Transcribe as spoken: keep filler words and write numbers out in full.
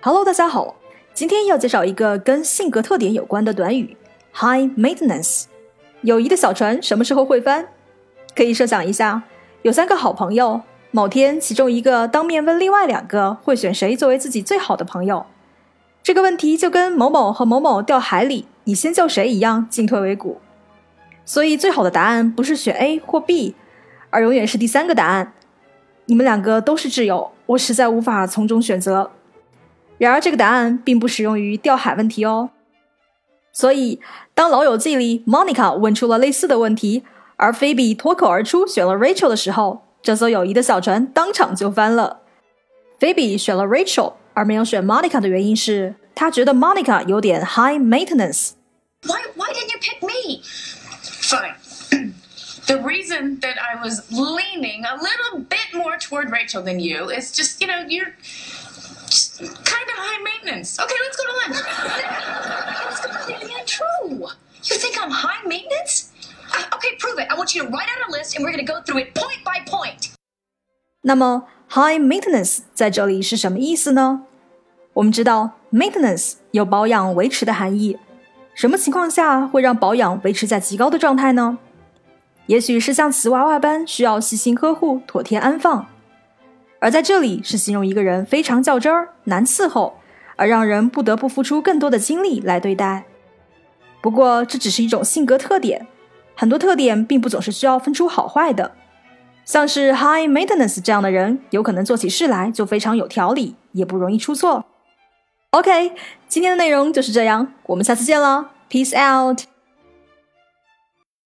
Hello， 大家好，今天要介绍一个跟性格特点有关的短语 High Maintenance。 友谊的小船什么时候会翻？可以设想一下，有三个好朋友，某天其中一个当面问另外两个会选谁作为自己最好的朋友。这个问题就跟某某和某某掉海里，你先救谁一样进退维谷。所以最好的答案不是选 A 或 B， 而永远是第三个答案。你们两个都是挚友，我实在无法从中选择。然而这个答案并不适用于掉海问题哦。所以当老友记里 Monica 问出了类似的问题，而 Phoebe 脱口而出选了 Rachel 的时候，这艘友谊的小船当场就翻了。 Phoebe 选了 Rachel 而没有选 Monica 的原因是她觉得 Monica 有点 high maintenance。 Why, why didn't you pick me? Fine. The reason that I was leaning a little bit more toward Rachel than you is just, you know, you're just kind of high maintenance. Okay, let's go to lunch. That's completely untrue. You think I'm high maintenance? Uh, okay, prove it. I want you to write out a list and we're going to go through it point by point. 那么 high maintenance 在这里是什么意思呢？我们知道 maintenance 有保养维持的含义，什么情况下会让保养维持在极高的状态呢？也许是像瓷娃娃般需要细心呵护、妥帖安放，而在这里是形容一个人非常较真儿、难伺候，而让人不得不付出更多的精力来对待。不过这只是一种性格特点，很多特点并不总是需要分出好坏的。像是 high maintenance 这样的人，有可能做起事来就非常有条理，也不容易出错。OK， 今天的内容就是这样，我们下次见了 ，Peace out。